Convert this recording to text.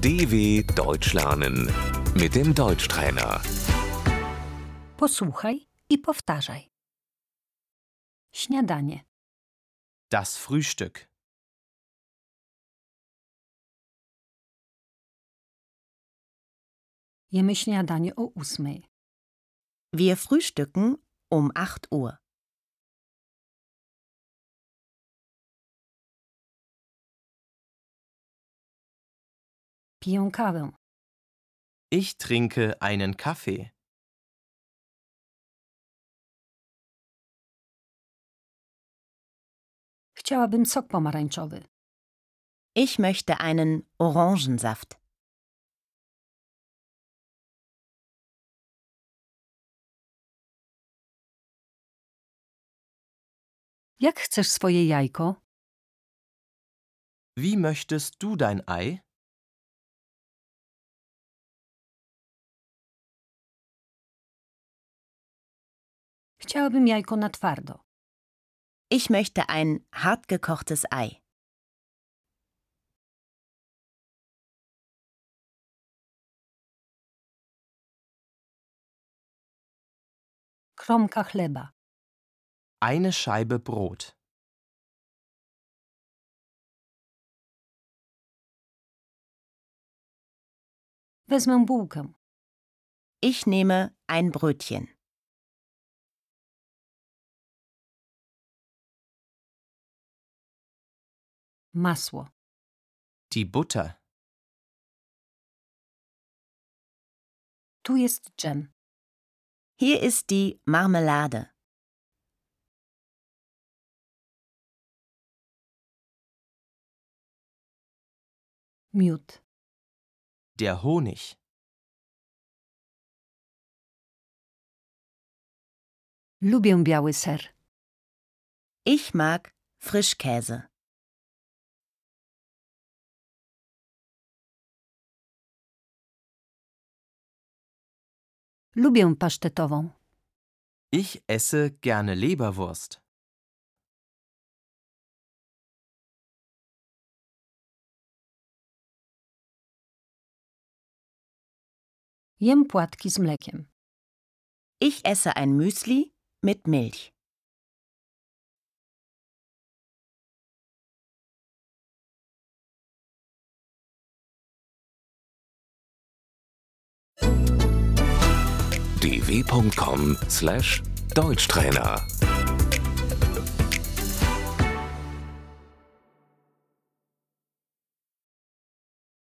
DW Deutsch lernen mit dem Deutschtrainer. Posłuchaj i powtarzaj. Śniadanie. Das Frühstück. Jemy śniadanie o 8:00. Wir frühstücken um 8 Uhr. Piję kawę. Ich trinke einen Kaffee. Chciałabym sok pomarańczowy. Ich möchte einen Orangensaft. Jak chcesz swoje jajko? Wie möchtest du dein Ei? Chciałabym jajko na twardo. Ich möchte ein hartgekochtes Ei. Kromka chleba. Eine Scheibe Brot. Wezmę bułkę. Ich nehme ein Brötchen. Masło. Die Butter. Tu jest dżem. Hier ist die Marmelade. Miód. Der Honig. Lubię biały ser. Ich mag Frischkäse. Lubię pasztetową. Ich esse gerne Leberwurst. Jem płatki z mlekiem. Ich esse ein Müsli mit Milch. dw.com/Deutschtrainer